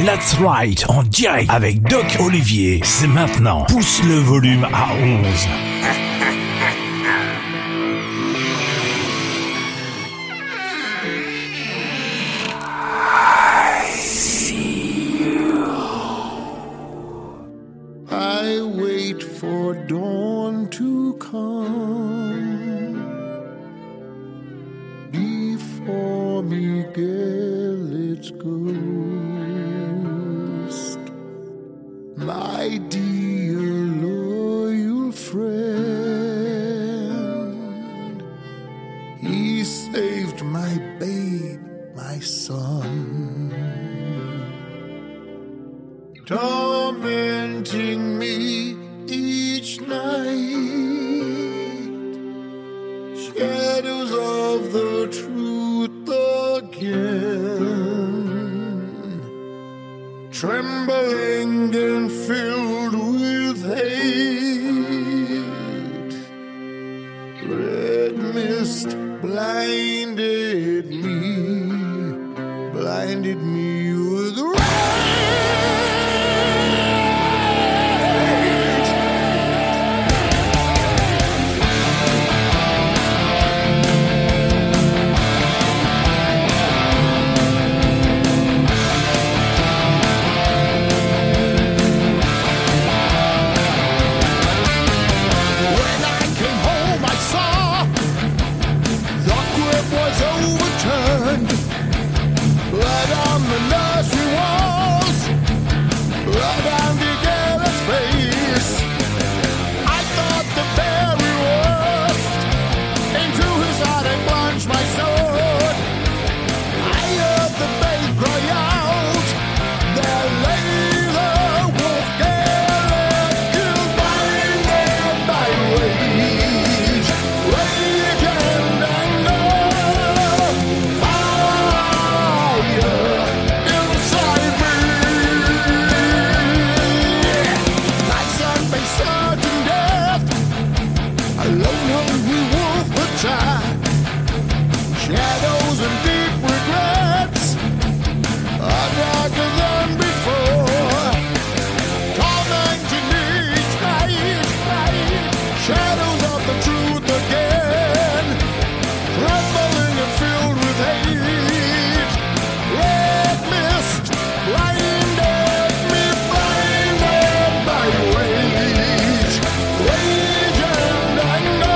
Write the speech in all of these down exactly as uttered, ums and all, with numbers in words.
Let's Ride en direct avec Doc Olivier. C'est maintenant. Pousse le volume à onze. I wait for dawn to come before Miguel its ghost, my dear loyal friend. He saved my babe, my son, tormenting me each night. Shadows of the truth again, trembling and filled with hate. Red mist blinded me, blinded me with rage. Blood on the nursery walls, blood on the girl's face. I thought the very worst. Into his heart I plunged my sword. I heard the babe cry out. There lay the wolf girl, killed blinded by rage, rage and anger. Shadows and deep regrets are darker than before, tormenting me each night, night. Shadows of the truth again, trembling and filled with hate. Red mist blinded me, blinded by rage, rage and anger.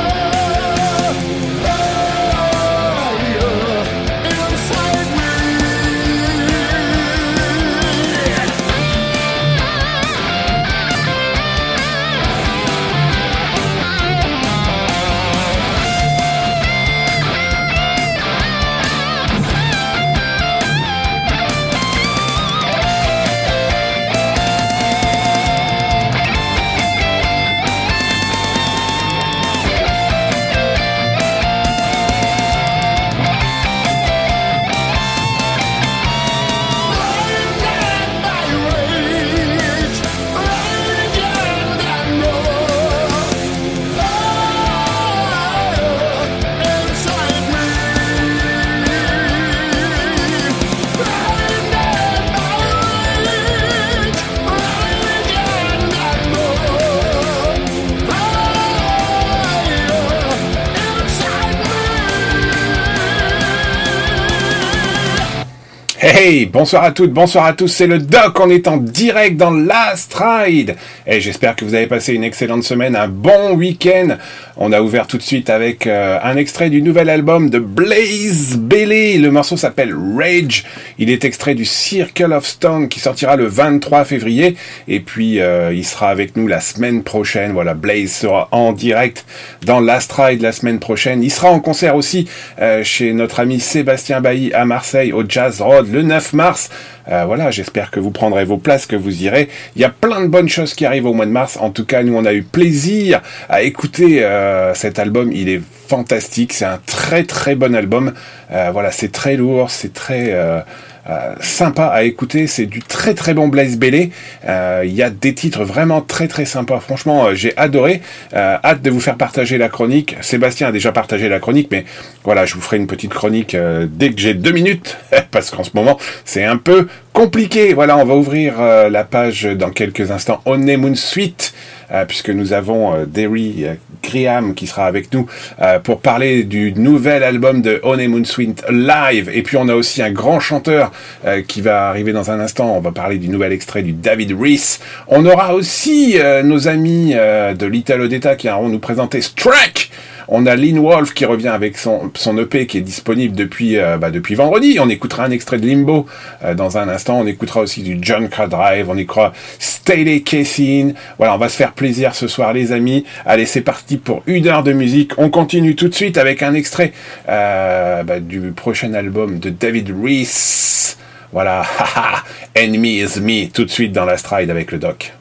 Hey, bonsoir à toutes, bonsoir à tous, c'est le Doc, on est en direct dans Last Ride. Et j'espère que vous avez passé une excellente semaine, un bon week-end. On a ouvert tout de suite avec euh, un extrait du nouvel album de Blaze Bayley. Le morceau s'appelle Rage. Il est extrait du Circle of Stone qui sortira le vingt-trois février. Et puis, euh, il sera avec nous la semaine prochaine. Voilà, Blaze sera en direct dans Last Ride la semaine prochaine. Il sera en concert aussi euh, chez notre ami Sébastien Bailly à Marseille, au Jazz Road, le neuf mars. Euh, voilà, j'espère que vous prendrez vos places, que vous irez. Il y a plein de bonnes choses qui arrivent au mois de mars. En tout cas, nous, on a eu plaisir à écouter euh, cet album. Il est fantastique. C'est un très, très bon album. Euh, voilà, c'est très lourd. C'est très... Euh, Euh, sympa à écouter, c'est du très très bon Blaze Bayley. Euh, il y a des titres vraiment très très sympas. Franchement, euh, j'ai adoré. Euh, hâte de vous faire partager la chronique. Sébastien a déjà partagé la chronique, mais voilà, je vous ferai une petite chronique euh, dès que j'ai deux minutes, parce qu'en ce moment, c'est un peu compliqué. Voilà, on va ouvrir euh, la page dans quelques instants. Honeymoon Suite, euh, puisque nous avons euh, Derry euh, Graham qui sera avec nous euh, pour parler du nouvel album de Honeymoon Suite live. Et puis on a aussi un grand chanteur euh, qui va arriver dans un instant. On va parler du nouvel extrait du David Rees. On aura aussi euh, nos amis euh, de l'Italo Detta qui vont nous présenter Strike. On a Lynn Wolf qui revient avec son, son E P qui est disponible depuis, euh, bah, depuis vendredi. On écoutera un extrait de Limbo euh, dans un instant. On écoutera aussi du John Cradrive. On écoutera Staley Cassin. Voilà, on va se faire plaisir ce soir, les amis. Allez, c'est parti pour une heure de musique. On continue tout de suite avec un extrait euh, bah, du prochain album de David Rees. Voilà, haha, Enemy is Me, tout de suite dans la stride avec le doc.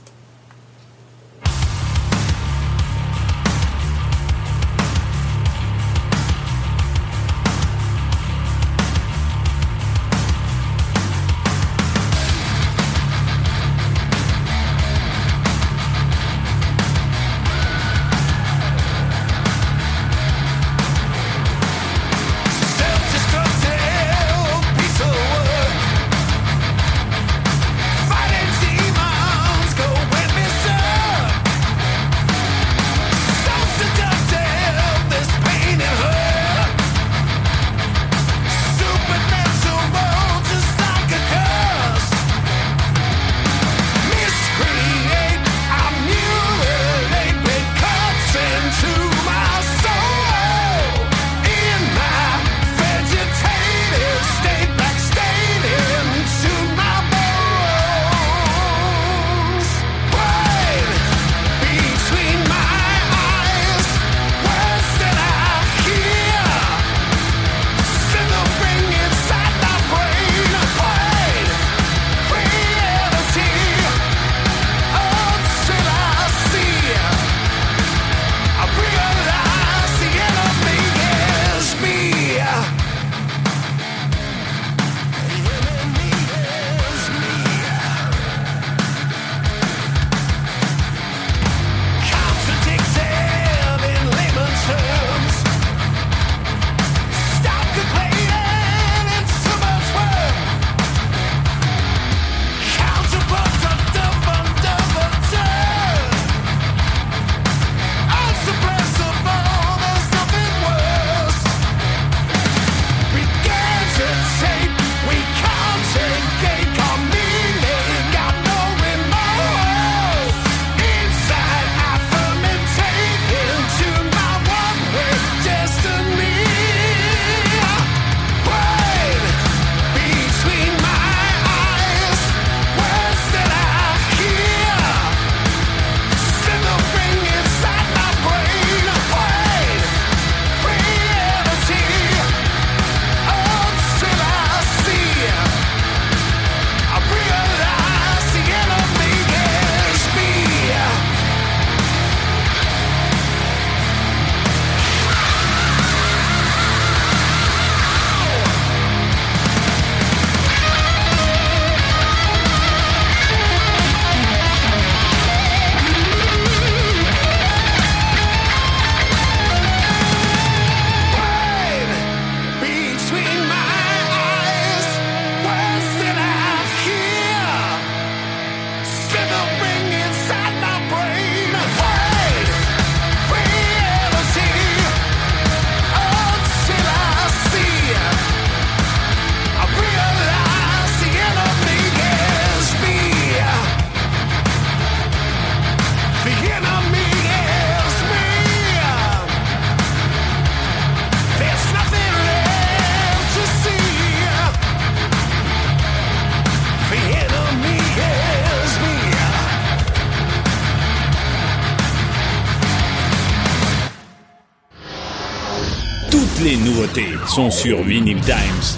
Les nouveautés sont sur Vinyl Times.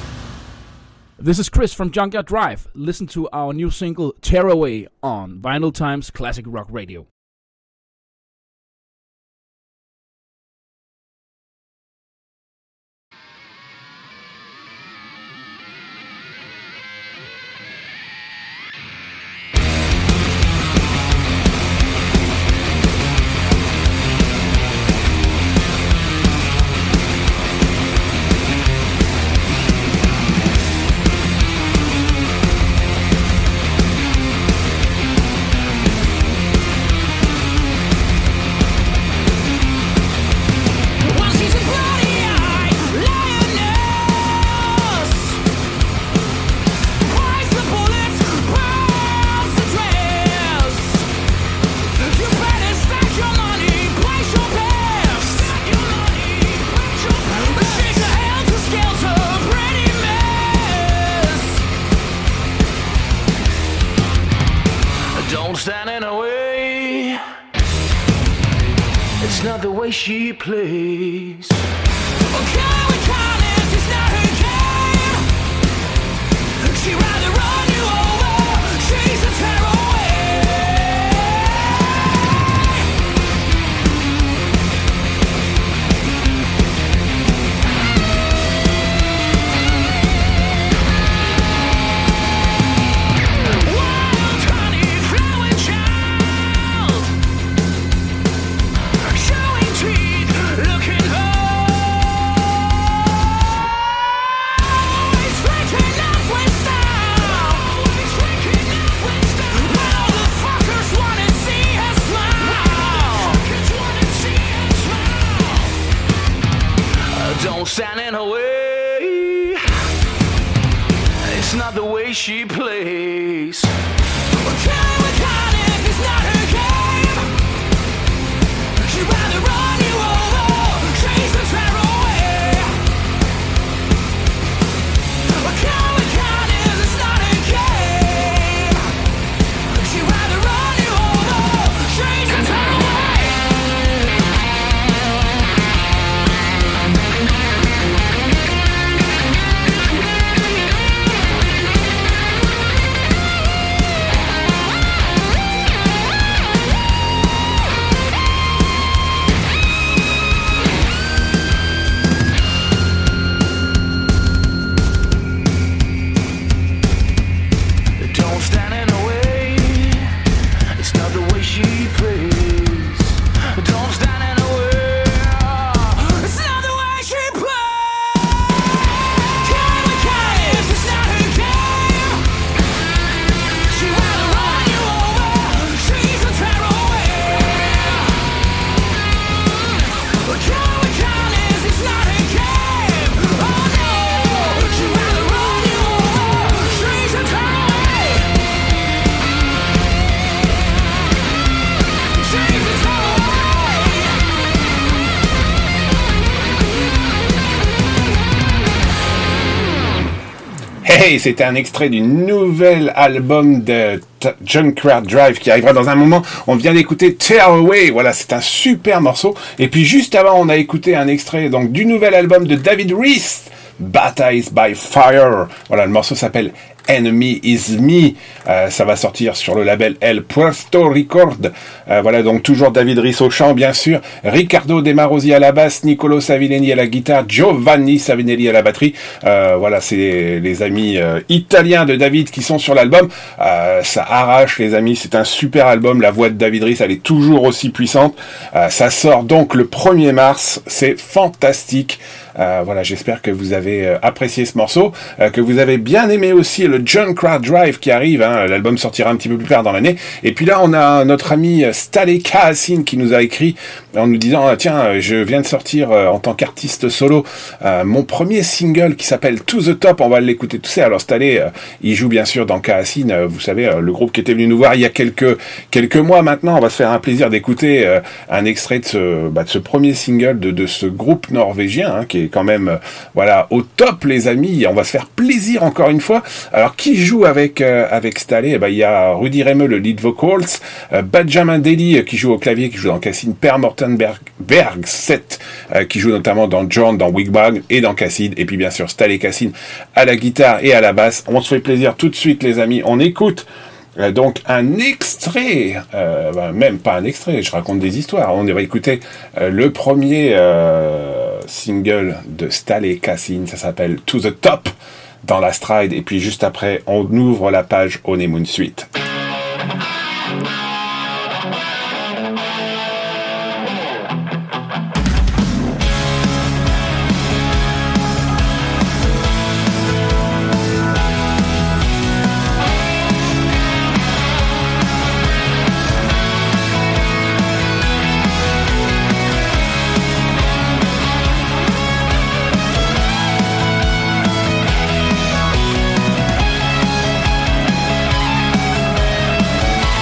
This is Chris from Junkyard Drive. Listen to our new single Tearaway on Vinyl Times Classic Rock Radio. We'll be right back. Don't stand in her way. It's not the way she plays. Okay, with kindness, it's not her game. She'd rather run you over. She's a tearaway. Wild, honey, flowing child. Showing teeth, looking always waking up with style. Always waking up with style. When all the fuckers wanna see her smile. Fuckers wanna see her smile. Don't stand in her way. It's not the way she plays. Okay, with kindness, it's not her game. She'd rather run you over, chase the tear away. Okay, with kindness, it's not her game. She'd rather run you over, chase the tear away. Don't stand in her way. It's not the way she plays. Don't stand in her way. It's not the way she plays. Kind with kindness, it's not her game. She'd rather run you over. She's a tearaway. Kind with kindness, it's not her game. Oh no, she'd rather run you over. She's a tearaway. Hey, c'était un extrait du nouvel album de T- Junkyard Drive qui arrivera dans un moment. On vient d'écouter Tear Away. Voilà, c'est un super morceau. Et puis juste avant, on a écouté un extrait donc du nouvel album de David Reese, Baptized by Fire. Voilà, le morceau s'appelle Enemy is Me. Euh, ça va sortir sur le label El Puerto Record. Euh, voilà, donc toujours David Reese au chant, bien sûr. Riccardo De Marosi à la basse, Nicolo Savinelli à la guitare, Giovanni Savinelli à la batterie. Euh, voilà, c'est les, les amis euh, italiens de David qui sont sur l'album. Euh, ça arrache, les amis. C'est un super album. La voix de David Reese, elle est toujours aussi puissante. Euh, ça sort donc le premier mars. C'est fantastique. Euh, voilà, j'espère que vous avez euh, apprécié ce morceau, euh, que vous avez bien aimé aussi le Junkyard Drive qui arrive, hein, l'album sortira un petit peu plus tard dans l'année. Et puis là, on a notre ami Stale Kaasin qui nous a écrit en nous disant ah, tiens, je viens de sortir euh, en tant qu'artiste solo euh, mon premier single qui s'appelle To The Top, on va l'écouter tout ça. Alors Stale, euh, il joue bien sûr dans Kaasin, euh, vous savez, euh, le groupe qui était venu nous voir il y a quelques quelques mois maintenant. On va se faire un plaisir d'écouter euh, un extrait de ce, bah, de ce premier single de, de ce groupe norvégien, hein, qui est quand même euh, voilà au top, les amis. On va se faire plaisir encore une fois. Alors qui joue avec euh, avec Stale? Eh ben, il y a Rudy Remeux, le lead vocals, euh, Benjamin Daly euh, qui joue au clavier, qui joue dans Kaasin, Per Morten Berg, Bergset euh, qui joue notamment dans John, dans Wigbag et dans Kaasin, et puis bien sûr Stale Kaasin à la guitare et à la basse. On se fait plaisir tout de suite, les amis. On écoute Euh, donc un extrait, euh, ben, même pas un extrait, je raconte des histoires. On va écouter euh, le premier euh, single de Stale Kaasin, ça s'appelle To The Top dans la Stride, et puis juste après on ouvre la page Honeymoon Suite. Thank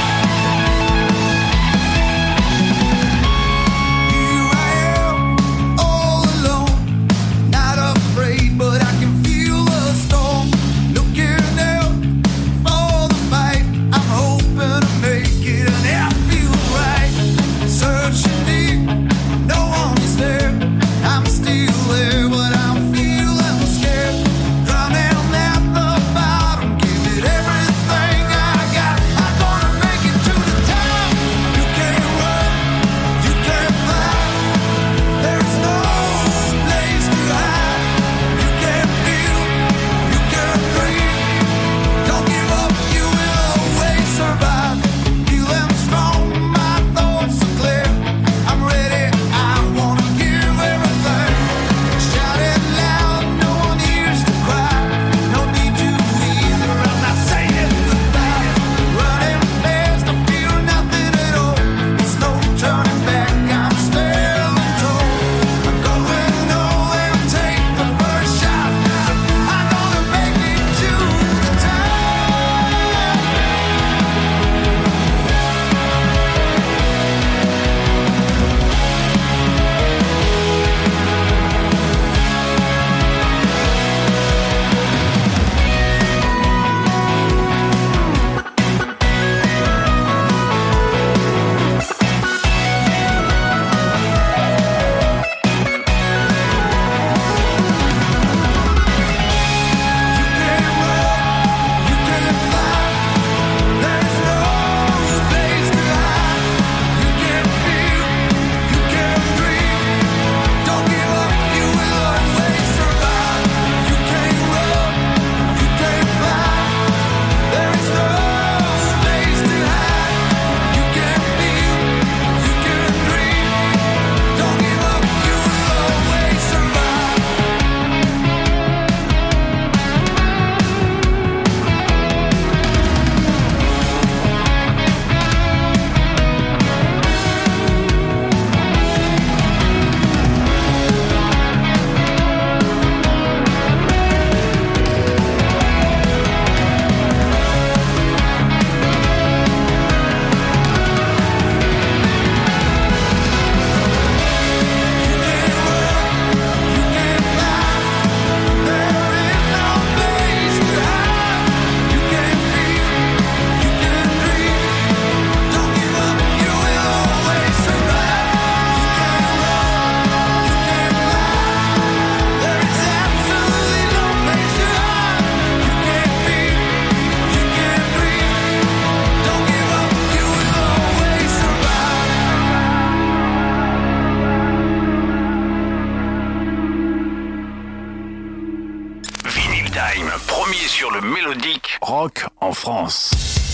mélodique. Rock en France.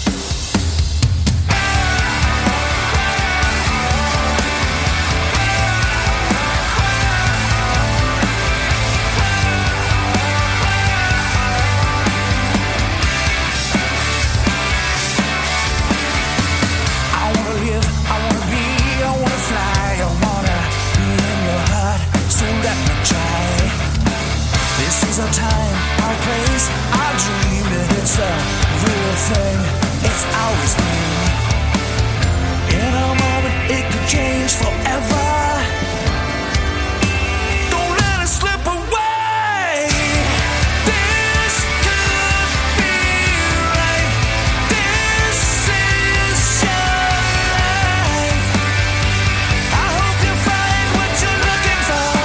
Our time, our place, our dream, and it's a real thing. It's always been. In a moment, it could change forever. Don't let it slip away. This could be right. This is your life. I hope you find what you're looking for.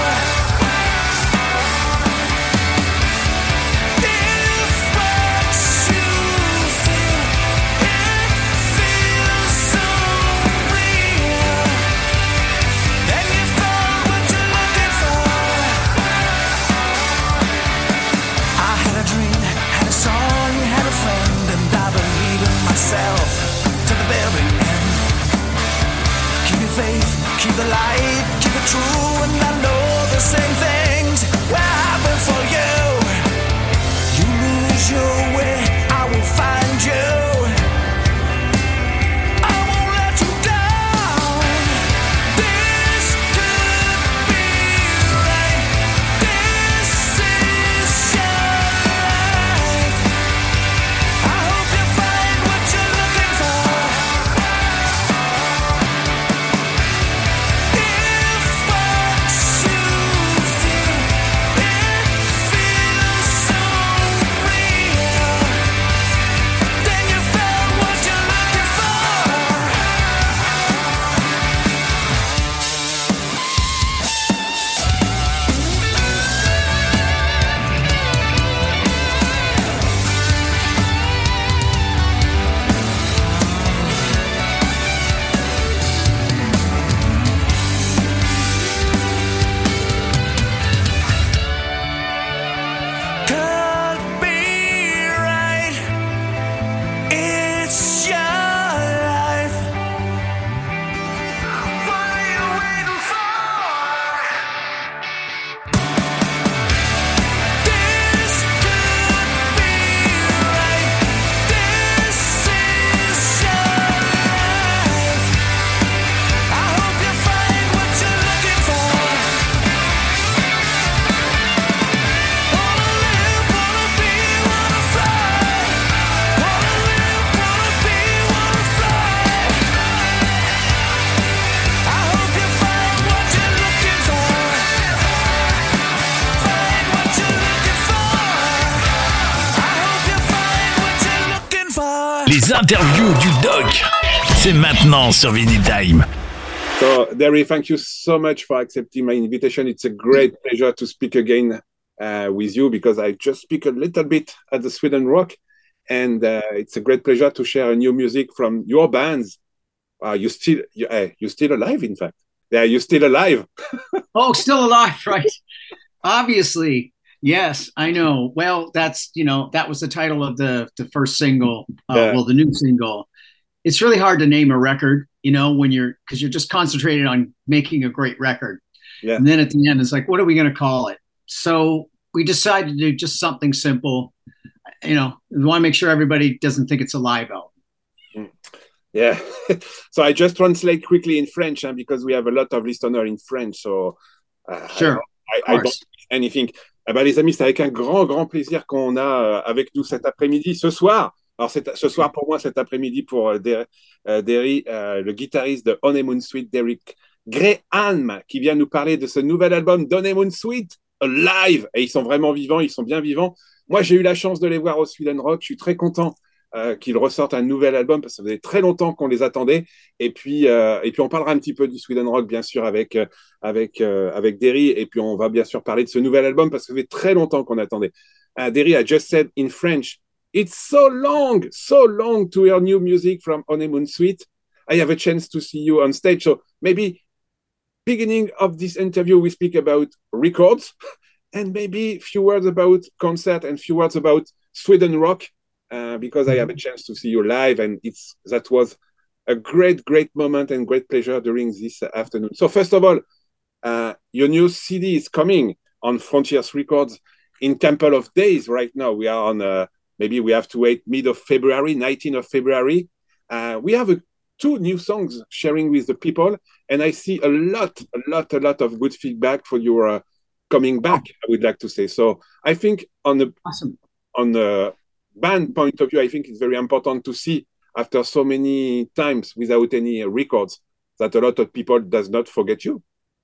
To the very end. Keep your faith, keep the light, keep it true, and I know the same things will happen for you. You lose your way, I will find you. I won't let you down. This could be right. This is your life. I hope you find what you're looking for. If what you feel, it feels so real, then you found what you're looking for. Could be right. It's your life. What are you waiting for? This could be right. This is your life. I hope you find what you're looking for. Wanna live, wanna be, wanna fly. Wanna live, wanna be, wanna fly. I hope you find what you're looking for. Find what you're looking for. I hope you find what you're looking for. Les interviews du doc, c'est maintenant sur Vinyl Time. So, Derry, thank you so much for accepting my invitation. It's a great pleasure to speak again uh, with you because I just speak a little bit at the Sweden Rock, and uh, it's a great pleasure to share a new music from your bands. Uh, you still, you, uh, you're still alive, in fact. Yeah, you're still alive. Oh, still alive, right? Obviously. Yes, I know. Well, that's, you know, that was the title of the, the first single, uh, Yeah. well, the new single. It's really hard to name a record, you know, when you're, because you're just concentrated on making a great record. Yeah. And then at the end, it's like, what are we going to call it? So we decided to do just something simple. You know, we want to make sure everybody doesn't think it's a live album. Yeah. So I just translate quickly in French huh, because we have a lot of listeners in French. So uh, Sure. I, I, I don't anything. Eh ben, les amis, c'est avec un grand, grand plaisir qu'on a euh, avec nous cet après-midi, ce soir. Alors, c'est, ce soir pour moi, cet après-midi pour euh, Der- euh, Derry, euh, le guitariste de Honeymoon Suite, Derek Graham, qui vient nous parler de ce nouvel album d'Honeymoon Suite, live. Et ils sont vraiment vivants, ils sont bien vivants. Moi, j'ai eu la chance de les voir au Sweden Rock. Je suis très content euh, qu'ils ressortent un nouvel album parce que ça faisait très longtemps qu'on les attendait. Et puis, euh, et puis on parlera un petit peu du Sweden Rock, bien sûr, avec, euh, avec, euh, avec Derry. Et puis, on va bien sûr parler de ce nouvel album parce que ça fait très longtemps qu'on attendait. Uh, Derry, I just said in French, it's so long, so long to hear new music from Honeymoon Suite. I have a chance to see you on stage. So maybe beginning of this interview, we speak about records and maybe a few words about concert and few words about Sweden Rock. uh, because I have a chance to see you live, and it's that was a great, great moment and great pleasure during this afternoon. So first of all, uh, your new C D is coming on Frontiers Records in couple of days. Right now, we are on. Uh, maybe we have to wait mid of February, nineteenth of February. Uh, we have a, two new songs sharing with the people, and I see a lot, a lot, a lot of good feedback for your uh, coming back. I would like to say. So I think on the Awesome. on the band point of view, I think it's very important to see after so many times without any uh, records that a lot of people does not forget you.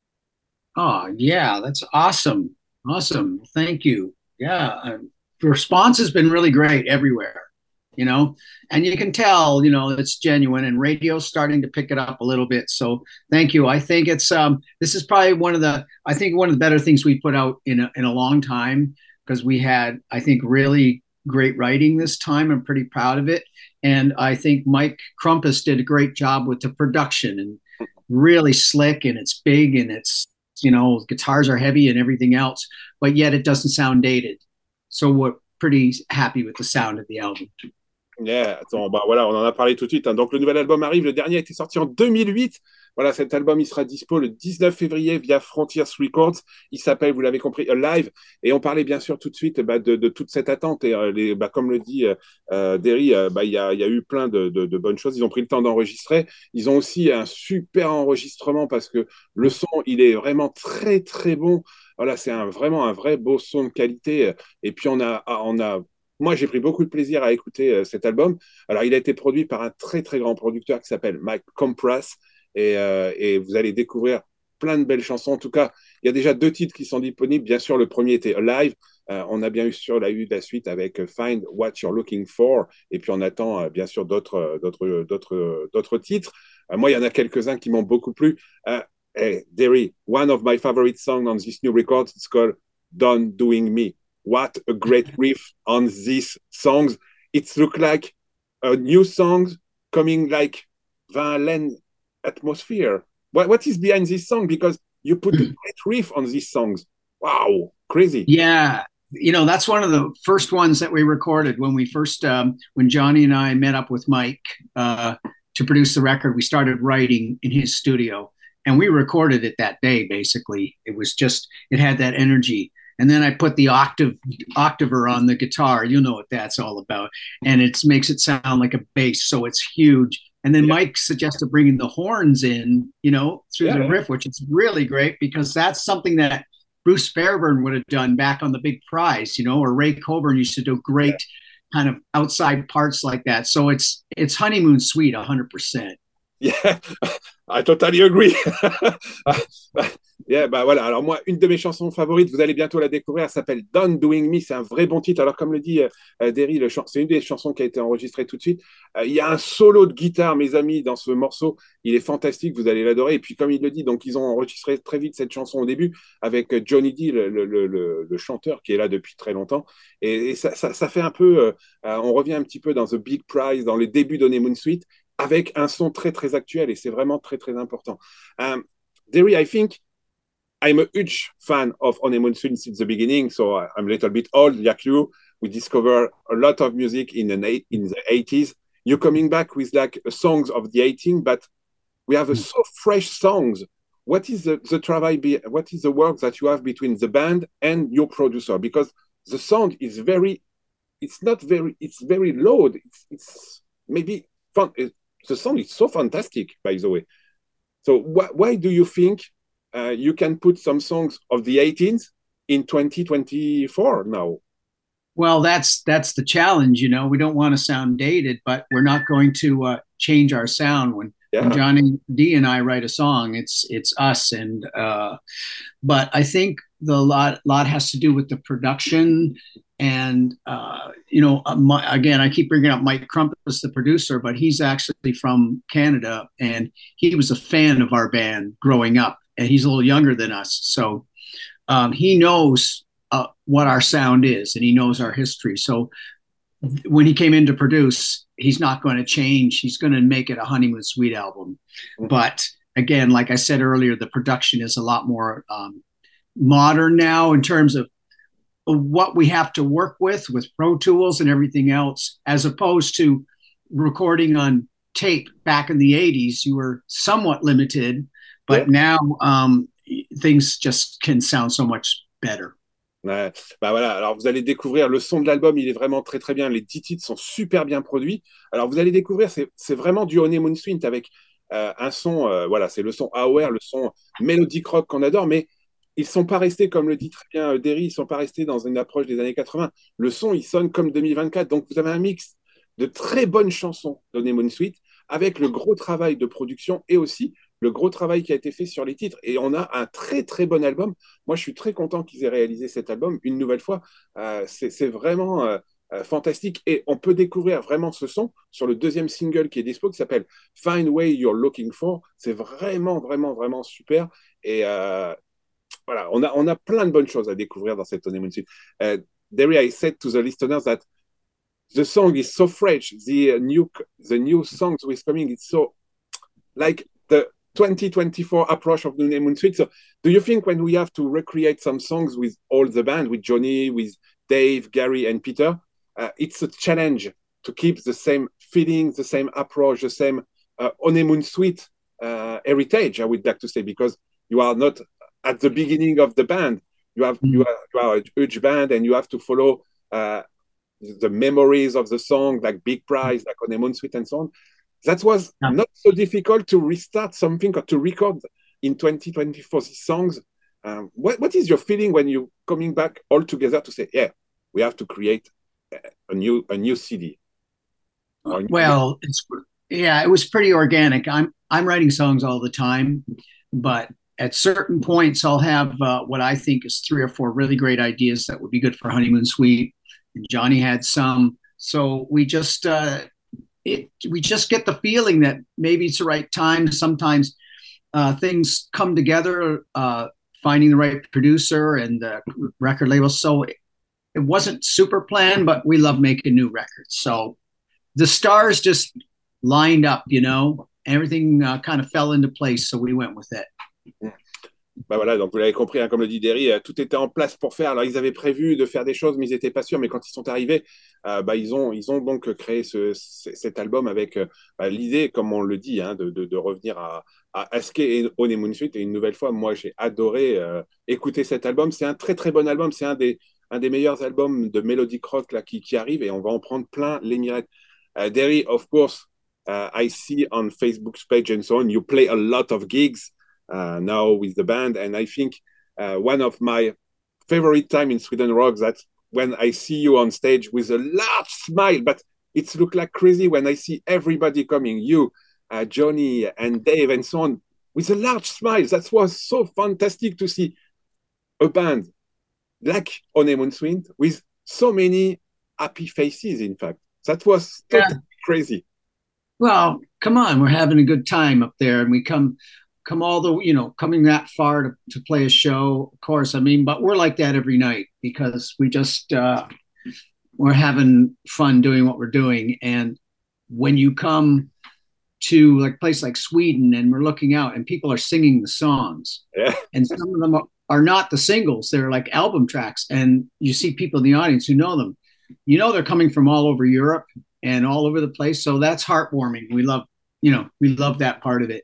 Oh, yeah, that's awesome. Awesome. Thank you. Yeah. uh, The response has been really great everywhere, you know, and you can tell, you know, it's genuine, and radio's starting to pick it up a little bit. So thank you. I think it's, um, this is probably one of the, I think one of the better things we put out in a, in a long time, because we had, I think, really great writing this time. I'm pretty proud of it. And I think Mike Crumpus did a great job with the production, and really slick, and it's big, and it's, you know, guitars are heavy and everything else, but yet it doesn't sound dated. So we're pretty happy with the sound of the album. Yeah, attends, bah voilà, on en a parlé tout de suite, hein. Donc le nouvel album arrive, le dernier a été sorti en deux mille huit. Voilà, cet album, il sera dispo le dix-neuf février via Frontiers Records. Il s'appelle, vous l'avez compris, Alive. Et on parlait bien sûr tout de suite bah, de, de toute cette attente. Et euh, les, bah, comme le dit euh, Derry, euh, bah, il y, a, il y a eu plein de, de, de bonnes choses. Ils ont pris le temps d'enregistrer. Ils ont aussi un super enregistrement parce que le son, il est vraiment très, très bon. Voilà, c'est un, vraiment un vrai beau son de qualité. Et puis, on a, on a moi, j'ai pris beaucoup de plaisir à écouter euh, cet album. Alors, il a été produit par un très, très grand producteur qui s'appelle Mike Compress. Et, euh, et vous allez découvrir plein de belles chansons. En tout cas, il y a déjà deux titres qui sont disponibles. Bien sûr, le premier était Alive. Euh, on a bien eu sur la, eu la suite avec Find What You're Looking For. Et puis, on attend euh, bien sûr d'autres, d'autres, d'autres, d'autres titres. Euh, moi, il y en a quelques-uns qui m'ont beaucoup plu. Euh, hey, Derry, one of my favorite songs on this new record, it's called Done Doing Me. What a great riff on these songs. It looks like a new song coming like Van Halen atmosphere. What, what is behind this song? Because you put a great riff on these songs. Wow, crazy. Yeah. You know, that's one of the first ones that we recorded when we first, um, when Johnny and I met up with Mike uh, to produce the record. We started writing in his studio, and we recorded it that day, basically. It was just, it had that energy. And then I put the octave octaver on the guitar. You know what that's all about. And it makes it sound like a bass, so it's huge. And then yeah. Mike suggested bringing the horns in, you know, through yeah, the riff, which is really great because that's something that Bruce Fairburn would have done back on The Big Prize, you know, or Ray Coburn used to do great yeah. kind of outside parts like that. So it's it's Honeymoon Suite one hundred percent. Yeah, I totally agree. Yeah, bah voilà. Alors moi, une de mes chansons favorites, vous allez bientôt la découvrir, elle s'appelle Done Doing Me. C'est un vrai bon titre. Alors comme le dit euh, Derry, le ch- c'est une des chansons qui a été enregistrée tout de suite. Euh, il y a un solo de guitare, mes amis, dans ce morceau. Il est fantastique, vous allez l'adorer. Et puis comme il le dit, donc ils ont enregistré très vite cette chanson au début avec Johnny D, le, le, le, le chanteur qui est là depuis très longtemps. Et, et ça, ça, ça fait un peu, euh, on revient un petit peu dans The Big Prize, dans les débuts d'Honeymoon Suite, avec un son très très actuel. Et c'est vraiment très très important. Um, Derry, I think I'm a huge fan of Honeymoon Suite since the beginning, so I'm a little bit old, like you. We discover a lot of music in the in the eighties. You're coming back with like songs of the eighties, but we have a so fresh songs. What is the the travail? Be, what is the work that you have between the band and your producer? Because the sound is very, it's not very, it's very low. It's, it's maybe fun. It, the sound is so fantastic, by the way. So wh- why do you think? Uh, you can put some songs of the eighties in twenty twenty-four now. Well, that's that's the challenge, you know. We don't want to sound dated, but we're not going to uh, change our sound. When, yeah. when Johnny D and I write a song, it's it's us. And uh, but I think the lot lot has to do with the production. And uh, you know, uh, my, again, I keep bringing up Mike Crumpus, the producer, but he's actually from Canada, and he was a fan of our band growing up. And he's a little younger than us. So um, he knows uh, what our sound is, and he knows our history. So when he came in to produce, he's not going to change. He's going to make it a Honeymoon Suite album. Mm-hmm. But again, like I said earlier, the production is a lot more um, modern now in terms of what we have to work with with Pro Tools and everything else, as opposed to recording on tape back in the eighties. You were somewhat limited, but yeah. now um, things just can sound so much better. Ouais. Bah voilà, alors vous allez découvrir le son de l'album, il est vraiment très très bien, les dix titres sont super bien produits. Alors vous allez découvrir, c'est, c'est vraiment du Honeymoon Suite avec euh, un son, euh, voilà, c'est le son Hour, le son mélodique rock qu'on adore, mais ils sont pas restés, comme le dit très bien euh, Derry, ils sont pas restés dans une approche des années quatre-vingts. Le son, il sonne comme deux mille vingt-quatre, donc vous avez un mix de très bonnes chansons d'Honeymoon Suite avec le gros travail de production et aussi le gros travail qui a été fait sur les titres. Et on a un très, très bon album. Moi, je suis très content qu'ils aient réalisé cet album. Une nouvelle fois, euh, c'est, c'est vraiment euh, euh, fantastique. Et on peut découvrir vraiment ce son sur le deuxième single qui est dispo, qui s'appelle Find Way You're Looking For. C'est vraiment, vraiment, vraiment super. Et euh, voilà, on a, on a plein de bonnes choses à découvrir dans cette Honeymoon Suite. Uh, Derry, I said to the listeners that the song is so fresh. The uh, new, the new songs with coming, it's so like the twenty twenty-four approach of the Honeymoon Suite. So do you think when we have to recreate some songs with all the band, with Johnny, with Dave, Gary, and Peter, uh, it's a challenge to keep the same feeling, the same approach, the same uh, Honeymoon Suite uh, heritage, I would like to say, because you are not at the beginning of the band. You have mm. you, are, you are a huge band, and you have to follow uh, the memories of the song, like Big Prize, like Honeymoon Suite, and so on. That was yeah. not so difficult to restart something or to record in twenty twenty-four these songs. Um, what, what is your feeling when you're coming back all together to say, yeah, we have to create a new a new C D? New well, it's, yeah, it was pretty organic. I'm I'm writing songs all the time, but at certain points, I'll have uh, what I think is three or four really great ideas that would be good for Honeymoon Suite. And Johnny had some, so we just. Uh, It, we just get the feeling that maybe it's the right time. Sometimes uh, things come together, uh, finding the right producer and the record label. So it, it wasn't super planned, but we love making new records. So the stars just lined up, you know, everything uh, kind of fell into place. So we went with it. Bah voilà, donc vous l'avez compris, hein, comme le dit Derry, euh, tout était en place pour faire. Alors ils avaient prévu de faire des choses, mais ils n'étaient pas sûrs. Mais quand ils sont arrivés, euh, bah, ils, ont, ils ont donc créé ce, c- cet album avec euh, bah, l'idée, comme on le dit, hein, de, de, de revenir à, à Askey et Honeymoon Suite. Et une nouvelle fois, moi j'ai adoré euh, écouter cet album. C'est un très très bon album. C'est un des, un des meilleurs albums de melodic rock là, qui, qui arrive, et on va en prendre plein les mirettes. Uh, Derry, of course, uh, I see on Facebook's page and so on, you play a lot of gigs. Uh, now with the band, and I think uh, one of my favorite time in Sweden Rock, that's when I see you on stage with a large smile, but it's look like crazy when I see everybody coming, you, uh, Johnny and Dave and so on, with a large smile. That was so fantastic to see a band like Honeymoon Suite with so many happy faces, in fact. That was totally yeah. crazy. Well, come on, we're having a good time up there, and we come come all the, you know, coming that far to, to play a show, of course. I mean, but we're like that every night because we just, uh, we're having fun doing what we're doing. And when you come to like a place like Sweden and we're looking out and people are singing the songs, yeah. and some of them are, are not the singles, they're like album tracks. And you see people in the audience who know them, you know, they're coming from all over Europe and all over the place. So that's heartwarming. We love, you know, we love that part of it.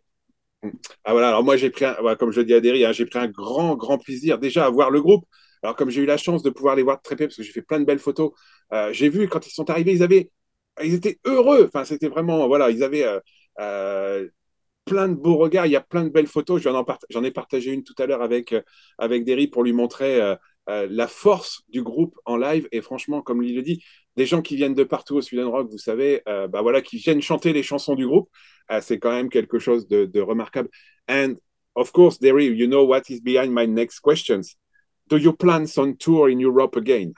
Ah voilà, alors moi j'ai pris, un, comme je le dis à Derry, hein, j'ai pris un grand, grand plaisir déjà à voir le groupe. Alors comme j'ai eu la chance de pouvoir les voir de très près parce que j'ai fait plein de belles photos, euh, j'ai vu quand ils sont arrivés, ils avaient, ils étaient heureux. Enfin, c'était vraiment, voilà, ils avaient euh, euh, plein de beaux regards. Il y a plein de belles photos. J'en, en part... J'en ai partagé une tout à l'heure avec euh, avec Derry pour lui montrer euh, euh, la force du groupe en live. Et franchement, comme il le dit, des gens qui viennent de partout au Sweden Rock, vous savez, euh, bah voilà, qui viennent chanter les chansons du groupe. Uh, c'est quand même quelque chose de, de remarquable. And of course, Derry, you know what is behind my next questions. Do you plan some tour in Europe again?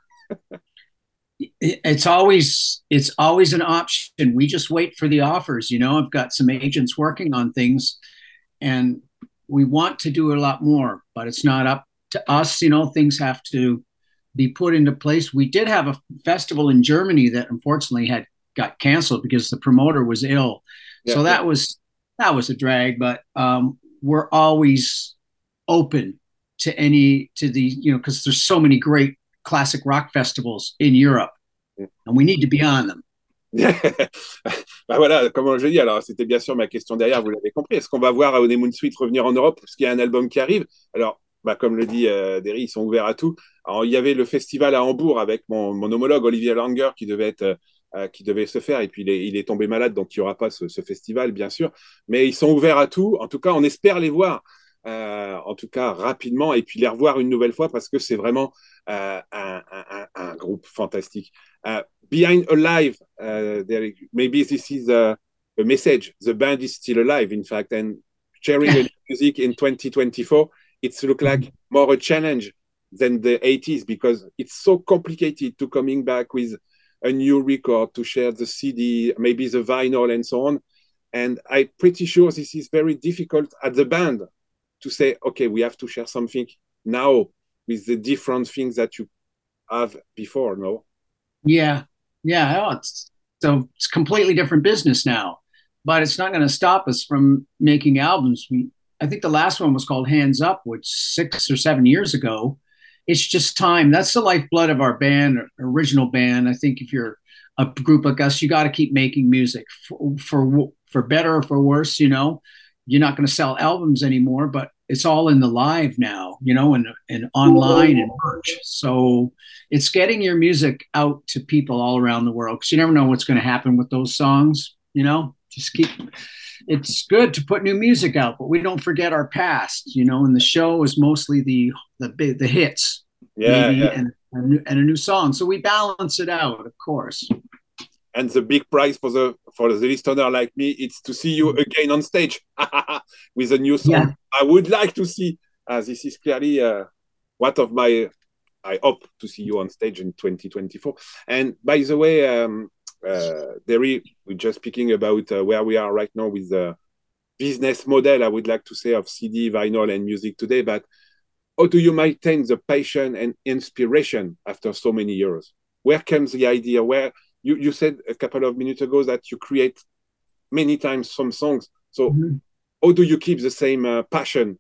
It's always it's always an option. We just wait for the offers. You know, I've got some agents working on things, and we want to do a lot more, but it's not up to us. You know, things have to be put into place. We did have a festival in Germany that unfortunately had got canceled because the promoter was ill. Yeah, so that yeah. was that was a drag, but um, we're always open to any to the you know because there's so many great classic rock festivals in Europe, and we need to be on them. Bah voilà, comme je dis, alors c'était bien sûr ma question derrière, vous l'avez compris. Est-ce qu'on va voir Honeymoon Suite revenir en Europe parce qu'il y a un album qui arrive? Alors, bah, comme le dit euh, Derry, ils sont ouverts à tout. Alors, il y avait le festival à Hambourg avec mon, mon homologue Olivier Langer qui devait être, euh, qui devait se faire, et puis il est, il est tombé malade, donc il n'y aura pas ce, ce festival, bien sûr. Mais ils sont ouverts à tout. En tout cas, on espère les voir, euh, en tout cas rapidement, et puis les revoir une nouvelle fois parce que c'est vraiment euh, un, un, un, groupe fantastique. Uh, Behind Alive, uh, there, maybe this is a, a message. The band is still alive, in fact, and sharing a music in twenty twenty-four, it's look like more a challenge than the eighties because it's so complicated to coming back with a new record, to share the C D, maybe the vinyl and so on. And I'm pretty sure this is very difficult at the band to say, okay, we have to share something now with the different things that you have before, no? Yeah, yeah. Oh, it's, so it's completely different business now, but it's not going to stop us from making albums. We, I think the last one was called Hands Up, which six or seven years ago. It's just time. That's the lifeblood of our band, original band. I think if you're a group like us, you got to keep making music for, for for better or for worse. You know, you're not going to sell albums anymore, but it's all in the live now, you know, and and online and merch. So it's getting your music out to people all around the world because you never know what's going to happen with those songs. You know, just keep. It's good to put new music out, but we don't forget our past. You know, and the show is mostly the the big the hits, yeah, maybe, yeah. And, and and a new song. So we balance it out, of course. And the big prize for the for the listener like me, it's to see you again on stage with a new song. Yeah. I would like to see. Uh, this is clearly uh, one of my. I hope to see you on stage in twenty twenty-four. And by the way, um, uh, Derry, we're just speaking about uh, where we are right now with the business model. I would like to say of C D, vinyl, and music today. But how do you maintain the passion and inspiration after so many years? Where comes the idea? Where You, you said a couple of minutes ago that you create many times some songs. So mm-hmm. how do you keep the same uh, passion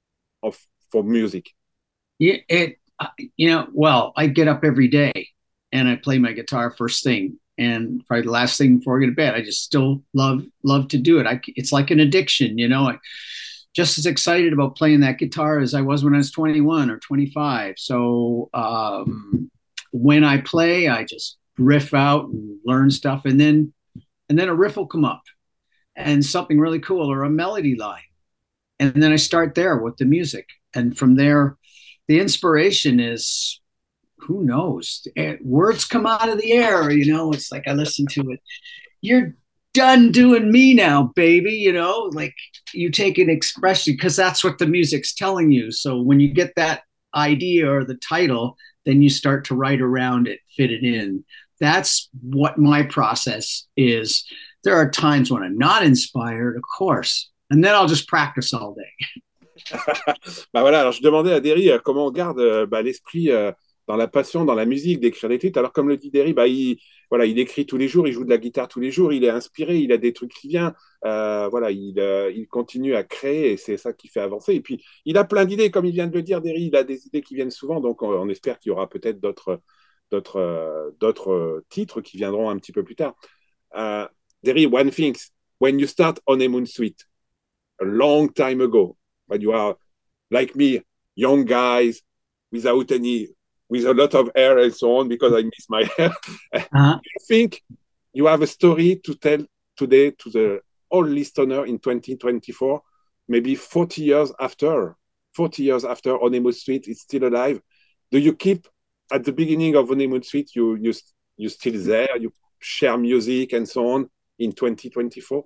of for music? Yeah, it, you know, well, I get up every day and I play my guitar first thing and probably the last thing before I go to bed. I just still love, love to do it. I, it's like an addiction, you know, I just as excited about playing that guitar as I was when I was twenty-one or twenty-five. So um, when I play, I just riff out and learn stuff, and then and then a riff will come up and something really cool or a melody line, and then I start there with the music, and from there the inspiration is, who knows, words come out of the air, you know. It's like I listen to it, you're done doing me now, baby, you know, like you take an expression because that's what the music's telling you. So when you get that idea or the title, then you start to write around it, fit it in. That's what my process is. There are times when I'm not inspired, of course, and then I'll just practice all day. Bah voilà, alors je demandais à Derry euh, comment on garde euh, bah, l'esprit euh, dans la passion, dans la musique, d'écrire des titres. Alors comme le dit Derry, bah, il, voilà, il écrit tous les jours, il joue de la guitare tous les jours, il est inspiré, il a des trucs qui viennent, euh, voilà, il, euh, il continue à créer et c'est ça qui fait avancer. Et puis il a plein d'idées, comme il vient de le dire, Derry, il a des idées qui viennent souvent, donc on, on espère qu'il y aura peut-être d'autres d'autres euh, d'autres euh, titres qui viendront un petit peu plus tard. Uh, Derry, one thing, when you start Honeymoon Suite, a long time ago, when you are like me, young guys, without any, with a lot of hair and so on, because I miss my hair, uh-huh. I think you have a story to tell today to the all listener in twenty twenty-four, maybe forty years after, forty years after Honeymoon Suite is still alive. Do you keep at the beginning of Honeymoon Suite, you you you still there, you share music and so on in twenty twenty-four?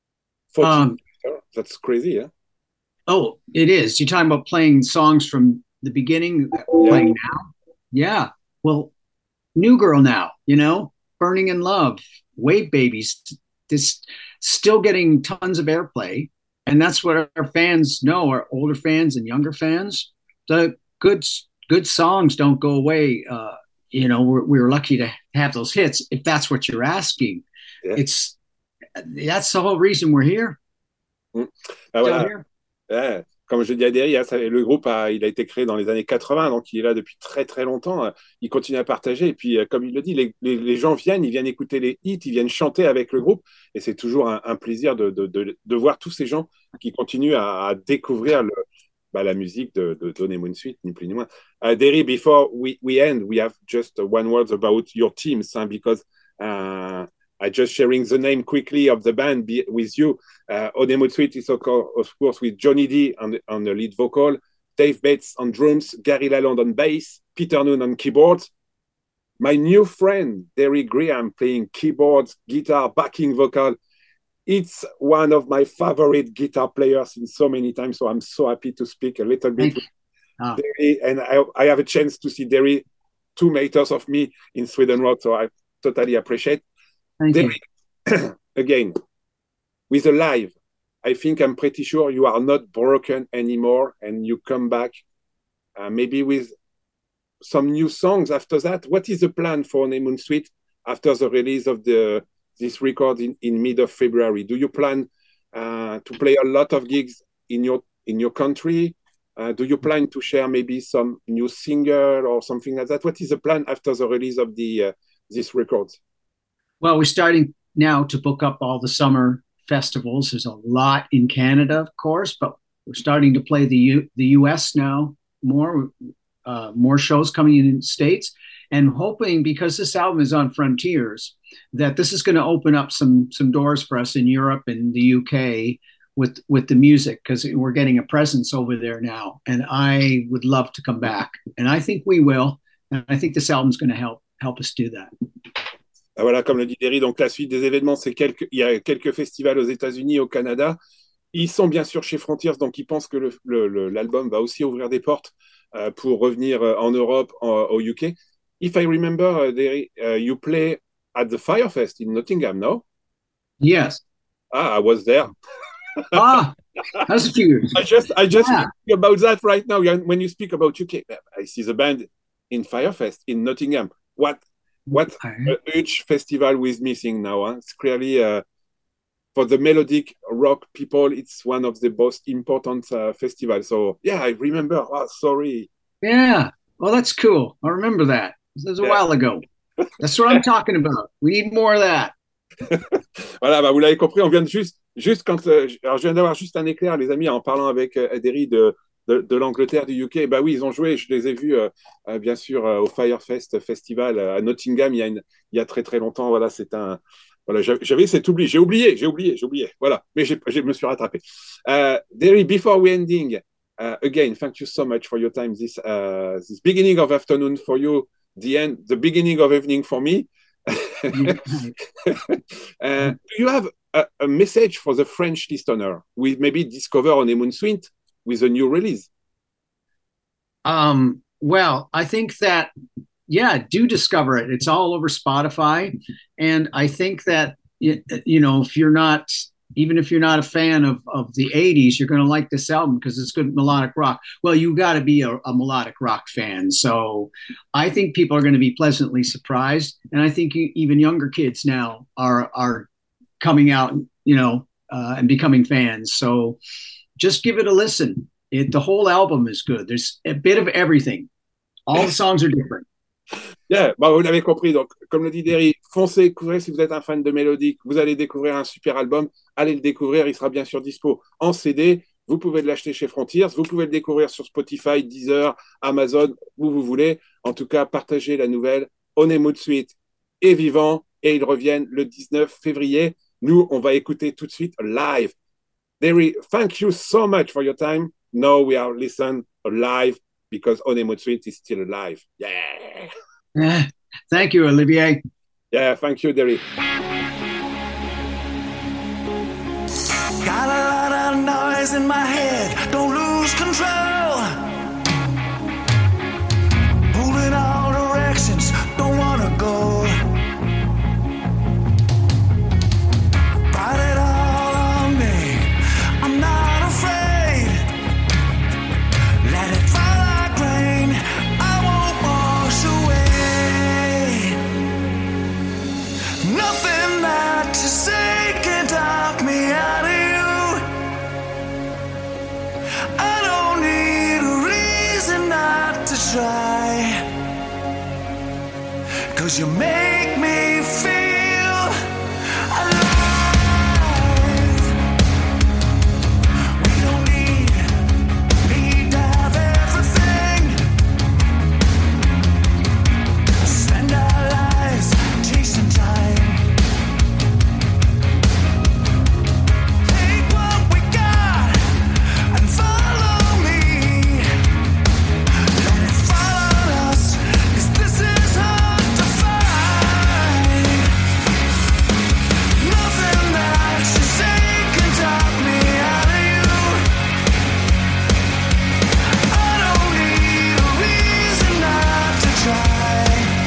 Um, That's crazy, yeah? Oh, it is. You're talking about playing songs from the beginning, yeah. Playing now? Yeah. Well, New Girl Now, you know, Burning in Love, Wave Babies, this still getting tons of airplay. And that's what our fans know, our older fans and younger fans. The good good songs don't go away. Uh, you know, we're, we're lucky to have those hits. If that's what you're asking, yeah. it's that's the whole reason we're here. Mm. Ah, voilà. here. Yeah. comme je dis à Derry, hein, ça- le groupe a, il a été créé dans les années quatre-vingts, donc il est là depuis très très longtemps. Euh, Il continue à partager. Et puis, euh, comme il le dit, les, les- les gens viennent, ils viennent écouter les hits, ils viennent chanter avec le groupe. Et c'est toujours un, un plaisir de, de, de, de voir tous ces gens qui continuent à, à découvrir le, bah, la musique de, de Honeymoon Suite, ni plus ni moins. Uh, Derry, before we, we end, we have just one word about your teams, hein, because uh, I just sharing the name quickly of the band be, with you. Uh, Honeymoon Suite is of course, of course with Johnny D on the, on the lead vocal, Dave Bates on drums, Gary Lalonde on bass, Peter Noon on keyboards. My new friend, Derry Graham, playing keyboards, guitar, backing vocal. It's one of my favorite guitar players in so many times, so I'm so happy to speak a little bit Thank with Ah. Derry, and I, I have a chance to see Derry two meters of me in Sweden Rock, so I totally appreciate. Thank you. Derry, again, with a live, I think I'm pretty sure you are not broken anymore, and you come back uh, maybe with some new songs after that. What is the plan for Honeymoon Suite after the release of the this record in, in mid of February? Do you plan uh, to play a lot of gigs in your in your country? Uh, do you plan to share maybe some new single or something like that? What is the plan after the release of the uh, this record? Well, we're starting now to book up all the summer festivals. There's a lot in Canada, of course, but we're starting to play the U- the U S now more, uh, more shows coming in in the States, and hoping, because this album is on Frontiers, that this is going to open up some some doors for us in Europe and the U K with with the music, because we're getting a presence over there now, and I would love to come back, and I think we will, and I think this album's going to help help us do that. Ah, voilà, comme le dit Derry, donc la suite des événements, c'est quelques, il y a quelques festivals aux États-Unis, au Canada. Ils sont bien sûr chez Frontiers, donc ils pensent que le, le, le, l'album va aussi ouvrir des portes euh, pour revenir euh, en Europe, en, au U K. If I remember, uh, Derry, uh, you play at the Firefest in Nottingham, no? Yes. Ah, I was there. Ah, that's a few years. I just, I just Yeah. think about that right now. When you speak about U K, I see the band in Firefest in Nottingham. What, what a huge festival we're missing now. Huh? It's clearly uh, for the melodic rock people, it's one of the most important uh, festivals. So yeah, I remember. Oh, sorry. Yeah. Well, that's cool. I remember that. This was a Yeah. while ago. That's what I'm talking about. We need more of that. Voilà, bah vous l'avez compris, on vient de juste, juste quand, euh, alors je viens d'avoir juste un éclair, les amis, en parlant avec euh, Derry de, de, de l'Angleterre, du U K. Bah oui, ils ont joué, je les ai vus, euh, euh, bien sûr, euh, au Firefest Festival euh, à Nottingham il y a, une, il y a très très longtemps. Voilà, c'est un, voilà, j'avais cet oubli, j'ai oublié, j'ai oublié, j'ai oublié. Voilà, mais j'ai, je me suis rattrapé. Uh, Derry, before we ending, uh, again, thank you so much for your time. This, uh, this beginning of afternoon for you, the end, the beginning of evening for me. uh, do you have a, a message for the French listener? We maybe discover Honeymoon Suite with a new release. Um, well, I think that, yeah, do discover it. It's all over Spotify. And I think that, you, you know, if you're not, even if you're not a fan of, of the eighties, you're going to like this album because it's good melodic rock. Well, you got to be a, a melodic rock fan. So I think people are going to be pleasantly surprised. And I think you, even younger kids now are, are coming out, you know, uh, and becoming fans. So just give it a listen. It, the whole album is good. There's a bit of everything. All the songs are different. Yeah, bah vous l'avez compris. Donc, comme le dit Derry, foncez, découvrez si vous êtes un fan de mélodique. Vous allez découvrir un super album. Allez le découvrir. Il sera bien sûr dispo en C D. Vous pouvez l'acheter chez Frontiers. Vous pouvez le découvrir sur Spotify, Deezer, Amazon, où vous voulez. En tout cas, partagez la nouvelle. Honeymoon Suite est vivant et ils reviennent le dix-neuf février. Nous, on va écouter tout de suite live. Derry, thank you so much for your time. Now we are listening live because Honeymoon Suite is still alive. Yeah. Yeah. Thank you, Olivier. Yeah, thank you, Derry. Got a lot of noise in my head, don't lose control. Moving all directions, don't wanna go. Brought it all on me, I'm not afraid. Let it fall like rain, I won't wash away. Nothing that you say can talk me out of you. I 'cause you make me feel alive. We don't need, need to have everything. Spend our lives chasing time. Take what we got and follow me. Let it follow us, 'cause this is hard to find. Nothing that you say can talk me out of you. I don't need a reason not to try.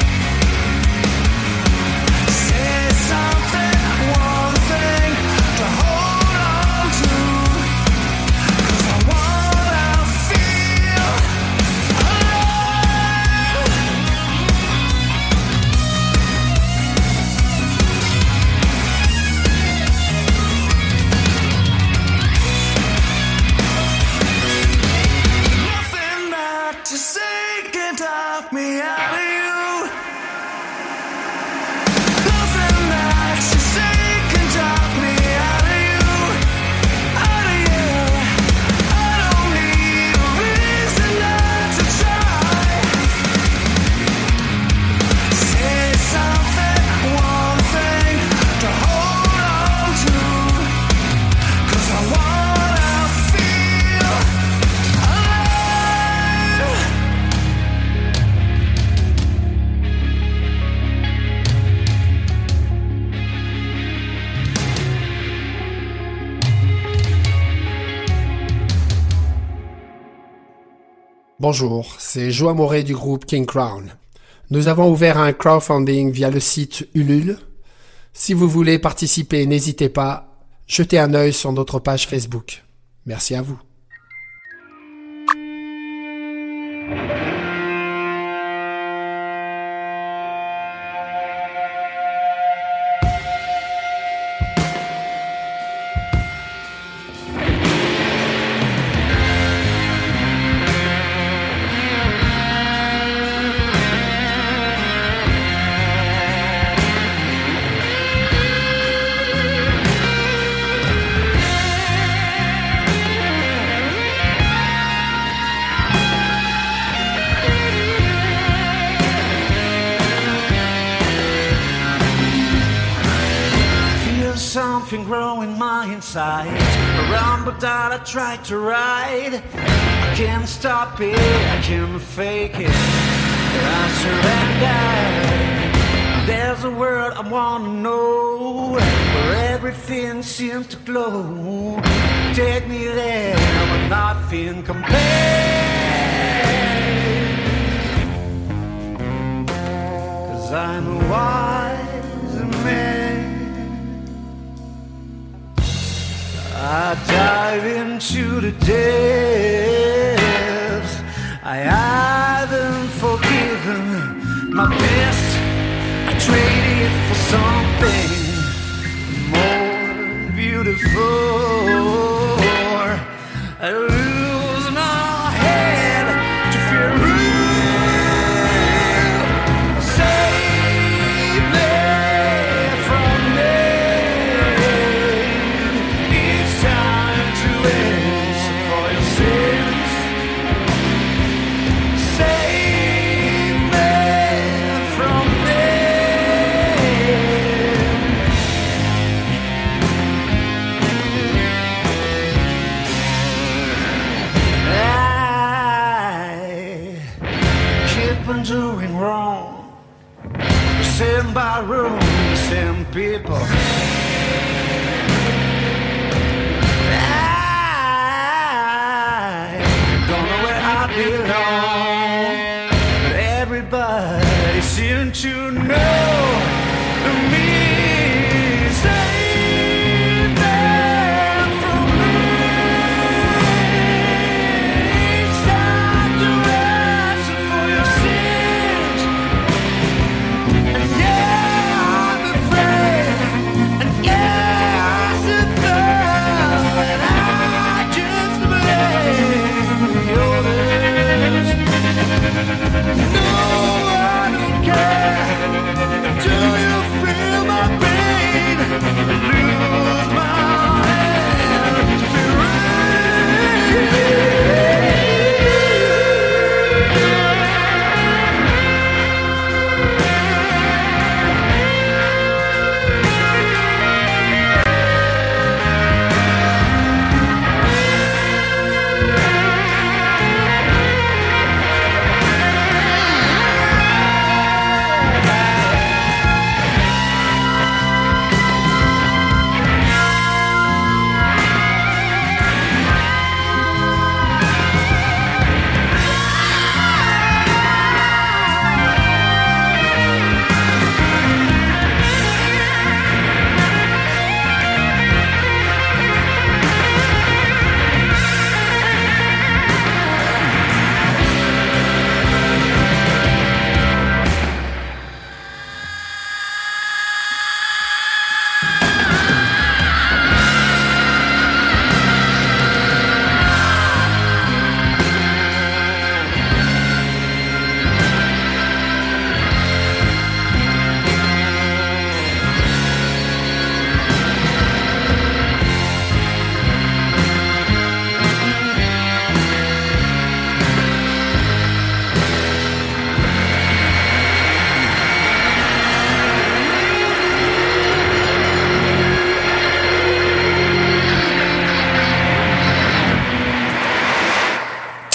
Say something, one thing to hold on to, 'cause I wanna feel alive. Nothing that you say can talk me out of you. Nothing that you say can talk me out of you. Out of you. I don't need a reason not to try. Say something, one thing to hold on to, 'cause I wanna feel alive. Bonjour, c'est Joa Moré du groupe King Crown. Nous avons ouvert un crowdfunding via le site Ulule. Si vous voulez participer, n'hésitez pas, jetez un œil sur notre page Facebook. Merci à vous. Feel something growing my insides, a rumble that I tried to ride. I can't stop it, I can't fake it, I surrender. There's a world I wanna know, where everything seems to glow. Take me there, where nothing compares. 'Cause I'm a wise man. I dive into the depths. I haven't forgiven my best. I trade it for something more beautiful. I lose my head to fear real. Save me from me. It's time to answer for your sins. Save me from on doing wrong. The same barroom, the same people. I don't know where I belong, but everybody seems to know me. Save them from me. It's time to answer for your sins. And yeah, I'm afraid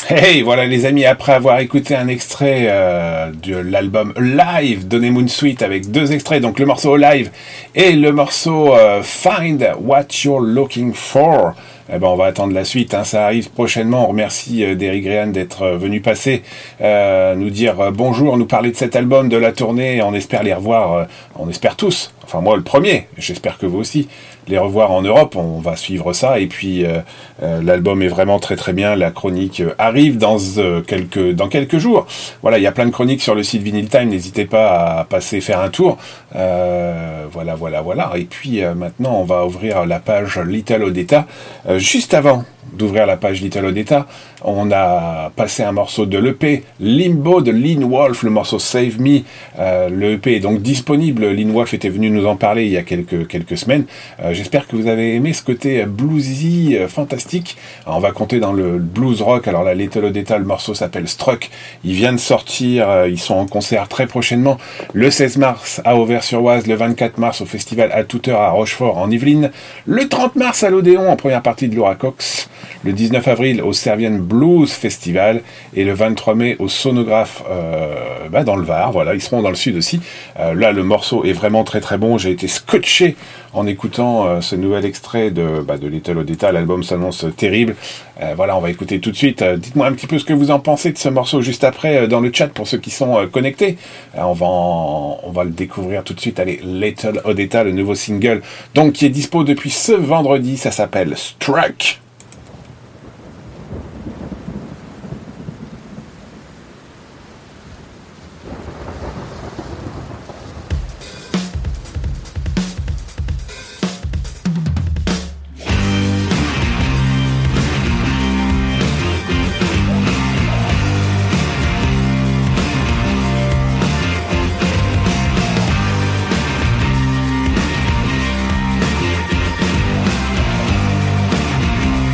Hey, voilà les amis, après avoir écouté un extrait euh, de l'album Live d'Honeymoon Suite avec deux extraits, donc le morceau Live et le morceau euh, Find What You're Looking For, eh ben on va attendre la suite, hein, ça arrive prochainement. On remercie euh, Derrick Grehan d'être euh, venu passer, euh, nous dire euh, bonjour, nous parler de cet album, de la tournée. On espère les revoir, euh, on espère tous, enfin moi le premier, j'espère que vous aussi, les revoir en Europe. On va suivre ça, et puis euh, euh, l'album est vraiment très très bien. La chronique euh, arrive dans euh, quelques dans quelques jours. Voilà, il y a plein de chroniques sur le site Vinyl Time, n'hésitez pas à passer faire un tour. Euh, voilà, voilà, voilà. Et puis euh, maintenant, on va ouvrir la page Little Odetta. Euh, juste avant d'ouvrir la page Little Odetta, on a passé un morceau de l'E P Limbo de Lynn Wolf, le morceau Save Me. Euh, le E P est donc disponible. Lynn Wolf était venu nous en parler il y a quelques quelques semaines. Euh, j'espère que vous avez aimé ce côté bluesy euh, fantastique. Alors, on va compter dans le blues rock. Alors la Little Odetta, le morceau s'appelle Struck. Il vient de sortir. Euh, ils sont en concert très prochainement. Le seize mars à Auvers-sur-Oise, le vingt-quatre mars au festival à toute heure à Rochefort en Yvelines, le trente mars à l'Odéon en première partie de Laura Cox, le dix-neuf avril au Servienne Blues Festival et le vingt-trois mai au Sonographe euh, bah dans le Var. Voilà, ils seront dans le sud aussi. Euh, là, le morceau est vraiment très très bon. J'ai été scotché en écoutant euh, ce nouvel extrait de, bah, de Little Odetta. L'album s'annonce terrible. Euh, voilà, on va écouter tout de suite. Euh, dites-moi un petit peu ce que vous en pensez de ce morceau juste après euh, dans le chat pour ceux qui sont euh, connectés. Euh, on va en, on va le découvrir tout de suite. Allez, Little Odetta, le nouveau single, donc qui est dispo depuis ce vendredi. Ça s'appelle Struck. Thank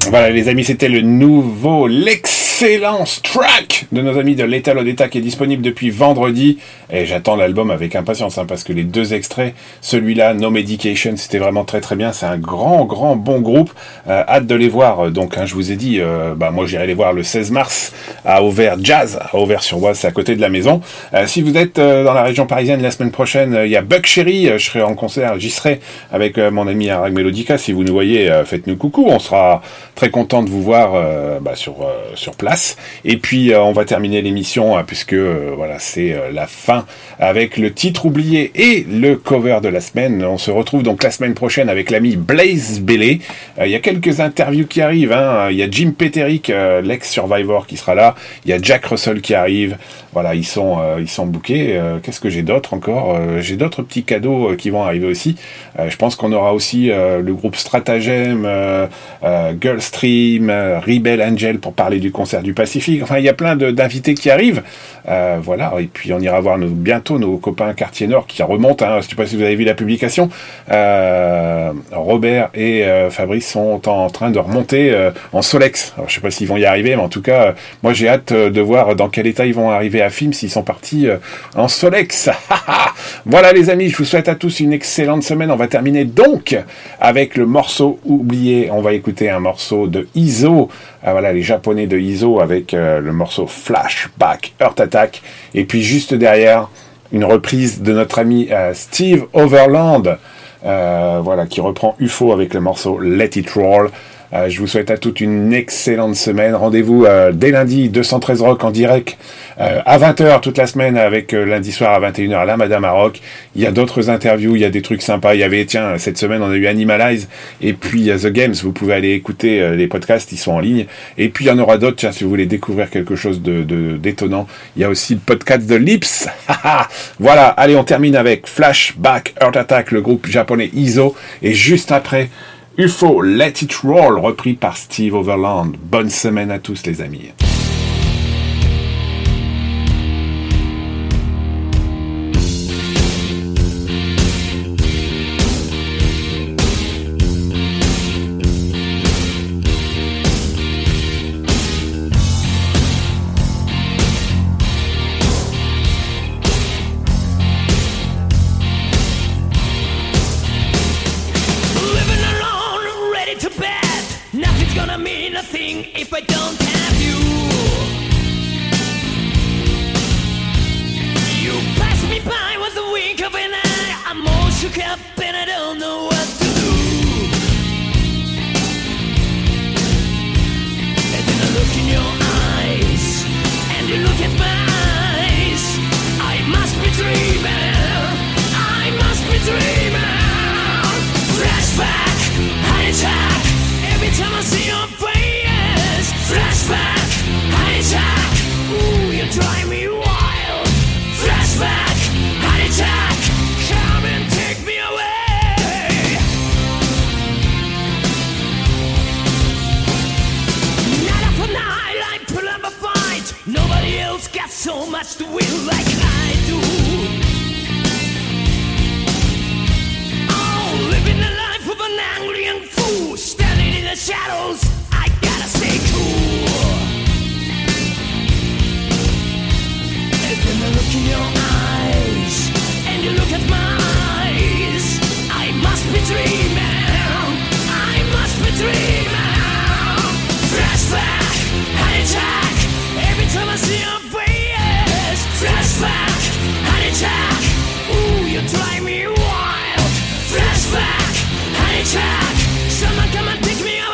Voilà les amis, c'était le nouveau, l'excellent track de nos amis de Lethal Odetta qui est disponible depuis vendredi. Et j'attends l'album avec impatience hein, parce que les deux extraits, celui-là, No Medication, c'était vraiment très très bien. C'est un grand grand bon groupe. Euh, hâte de les voir. Donc hein, je vous ai dit, euh, bah moi j'irai les voir le seize mars à Auvers Jazz, à Auvers-sur-Oise, c'est à côté de la maison. Euh, si vous êtes euh, dans la région parisienne la semaine prochaine, il euh, y a Buck Cherry. Euh, je serai en concert, j'y serai avec euh, mon ami Arag Melodica. Si vous nous voyez, euh, faites-nous coucou. On sera très content de vous voir euh, bah, sur euh, sur place. Et puis euh, on va terminer l'émission hein, puisque euh, voilà c'est euh, la fin avec le titre oublié et le cover de la semaine. On se retrouve donc la semaine prochaine avec l'ami Blaze Bayley. Il euh, y a quelques interviews qui arrivent. Il hein. y a Jim Peterick, euh, l'ex-Survivor, qui sera là. Il y a Jack Russell qui arrive. Voilà, ils sont euh, ils sont bookés. Euh, qu'est-ce que j'ai d'autre encore euh, J'ai d'autres petits cadeaux euh, qui vont arriver aussi. Euh, je pense qu'on aura aussi euh, le groupe Stratagem, euh, euh, Girlstream, euh, Rebel Angel pour parler du concert du Pacifique. Enfin, il y a plein de, d'invités qui arrivent. Euh, voilà, et puis on ira voir nos, bientôt nos copains Quartier Nord qui remontent. Hein, je ne sais pas si vous avez vu la publication. Euh, Robert et euh, Fabrice sont en train de remonter euh, en Solex. Alors, je ne sais pas s'ils vont y arriver, mais en tout cas, euh, moi j'ai hâte euh, de voir dans quel état ils vont arriver à Film s'ils sont partis euh, en Solex. Voilà les amis, je vous souhaite à tous une excellente semaine. On va terminer donc avec le morceau oublié. On va écouter un morceau de I S O. Ah, voilà, les Japonais de I S O avec euh, le morceau Flashback Heart Attack. Et puis juste derrière, une reprise de notre ami euh, Steve Overland, euh, voilà, qui reprend U F O avec le morceau Let It Roll. Euh, je vous souhaite à toute une excellente semaine. Rendez-vous euh, dès lundi, deux cent treize Rock en direct, euh, à vingt heures toute la semaine, avec euh, lundi soir à vingt et une heures la Madame à Rock. Il y a d'autres interviews, il y a des trucs sympas. Il y avait, tiens, cette semaine, on a eu Animalize, et puis euh, The Games. Vous pouvez aller écouter euh, les podcasts, ils sont en ligne. Et puis il y en aura d'autres, tiens, si vous voulez découvrir quelque chose de, de d'étonnant. Il y a aussi le podcast de Lips. Voilà, allez, on termine avec Flashback Heart Attack, le groupe japonais I S O. Et juste après, U F O, Let It Roll, repris par Steve Overland. Bonne semaine à tous les amis. If I don't have you, you pass me by with a wink of an eye. I'm all shook up and I don't know what to do. And then I look in your eyes, and you look at my eyes. I must be dreaming, I must be dreaming. Flashback, heart attack, every time I see your face. Flashback, heart attack, ooh, you drive me wild. Flashback, heart attack, come and take me away. Night after night, I put up a fight. Nobody else got so much to win like I do. Oh, living the life of an angry young fool, standing in the shadows. Stay cool. And then I look in your eyes, and you look at my eyes. I must be dreaming, I must be dreaming. Flashback, heart attack, every time I see your face. Flashback, heart attack, ooh, you drive me wild. Flashback, heart attack, someone come and take me away.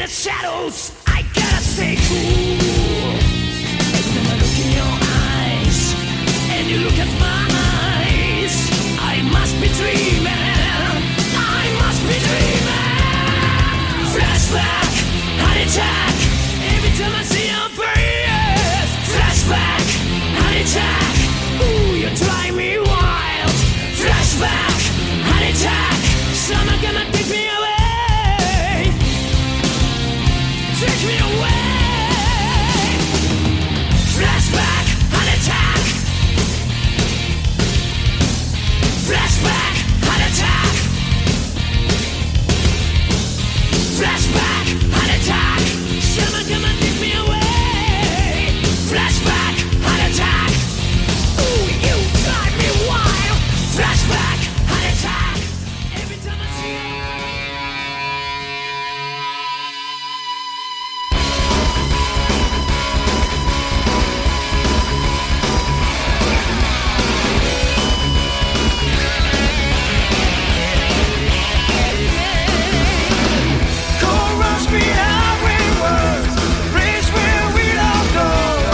the shadows, I gotta stay cool. Then I look in your eyes, and you look at my eyes. I must be dreaming, I must be dreaming. Flashback, heart attack, every time I see your face. Flashback, heart attack, ooh, you drive me wild. Flashback, heart attack, someone gonna take me away. Take me away. Flashback, heart attack. Flashback, heart attack. Flashback, heart attack. Someone come and take me away. Flashback, heart attack. Ooh, you drive me wild. Flashback, heart attack. Every time I see you. Cold rush me highway words, place where we don't go.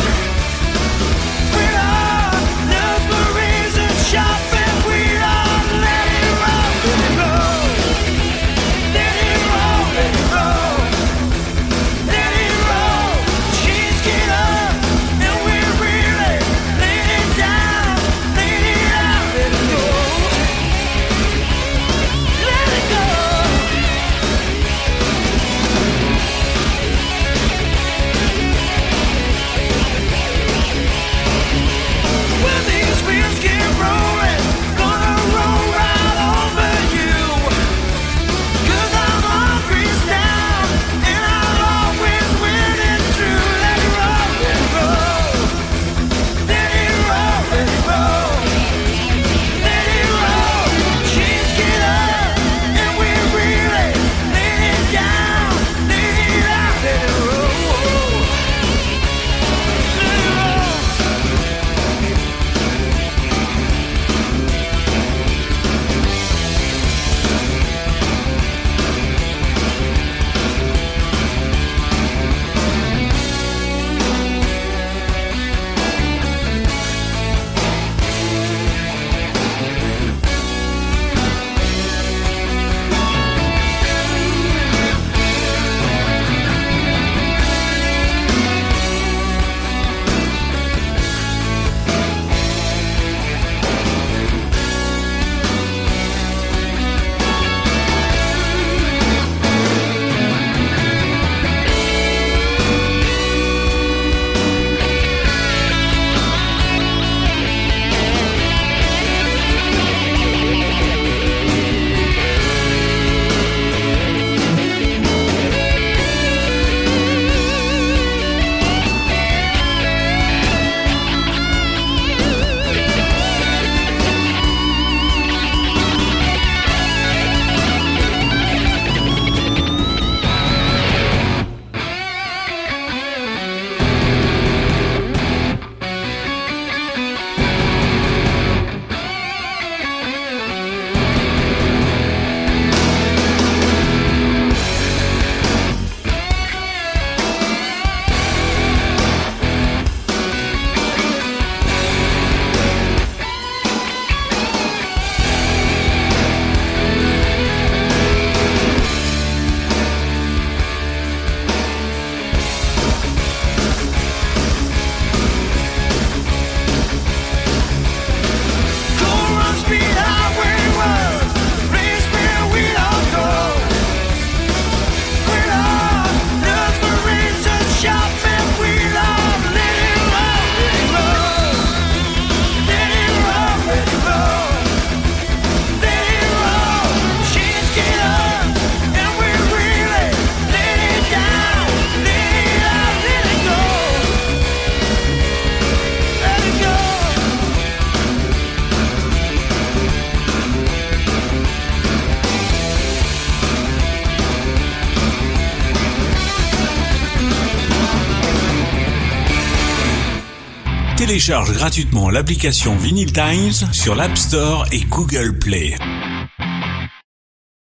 We are love for reason, shopping. We are let it roll, let it roll, let it roll, let it roll, let it roll. She's get up, and we really let it down, let it out, let it go, let it go. When these wheels get rolling, gonna roll right over you. 'Cause I'm always down, and I'll always win it through. Let it roll, let it roll. Let it roll, let it roll. Let it roll. She's get up, and we really let it down, let it out, let it roll. Let it roll. Cold rush me highway words, place where we don't go. We love love for reason, shopping. We love let it roll, let it roll, let it roll, let it roll, let it roll. She's get up, and we really let it down, let it out, let it go, let it go. Télécharge gratuitement l'application Vinyl Times sur l'App Store et Google Play.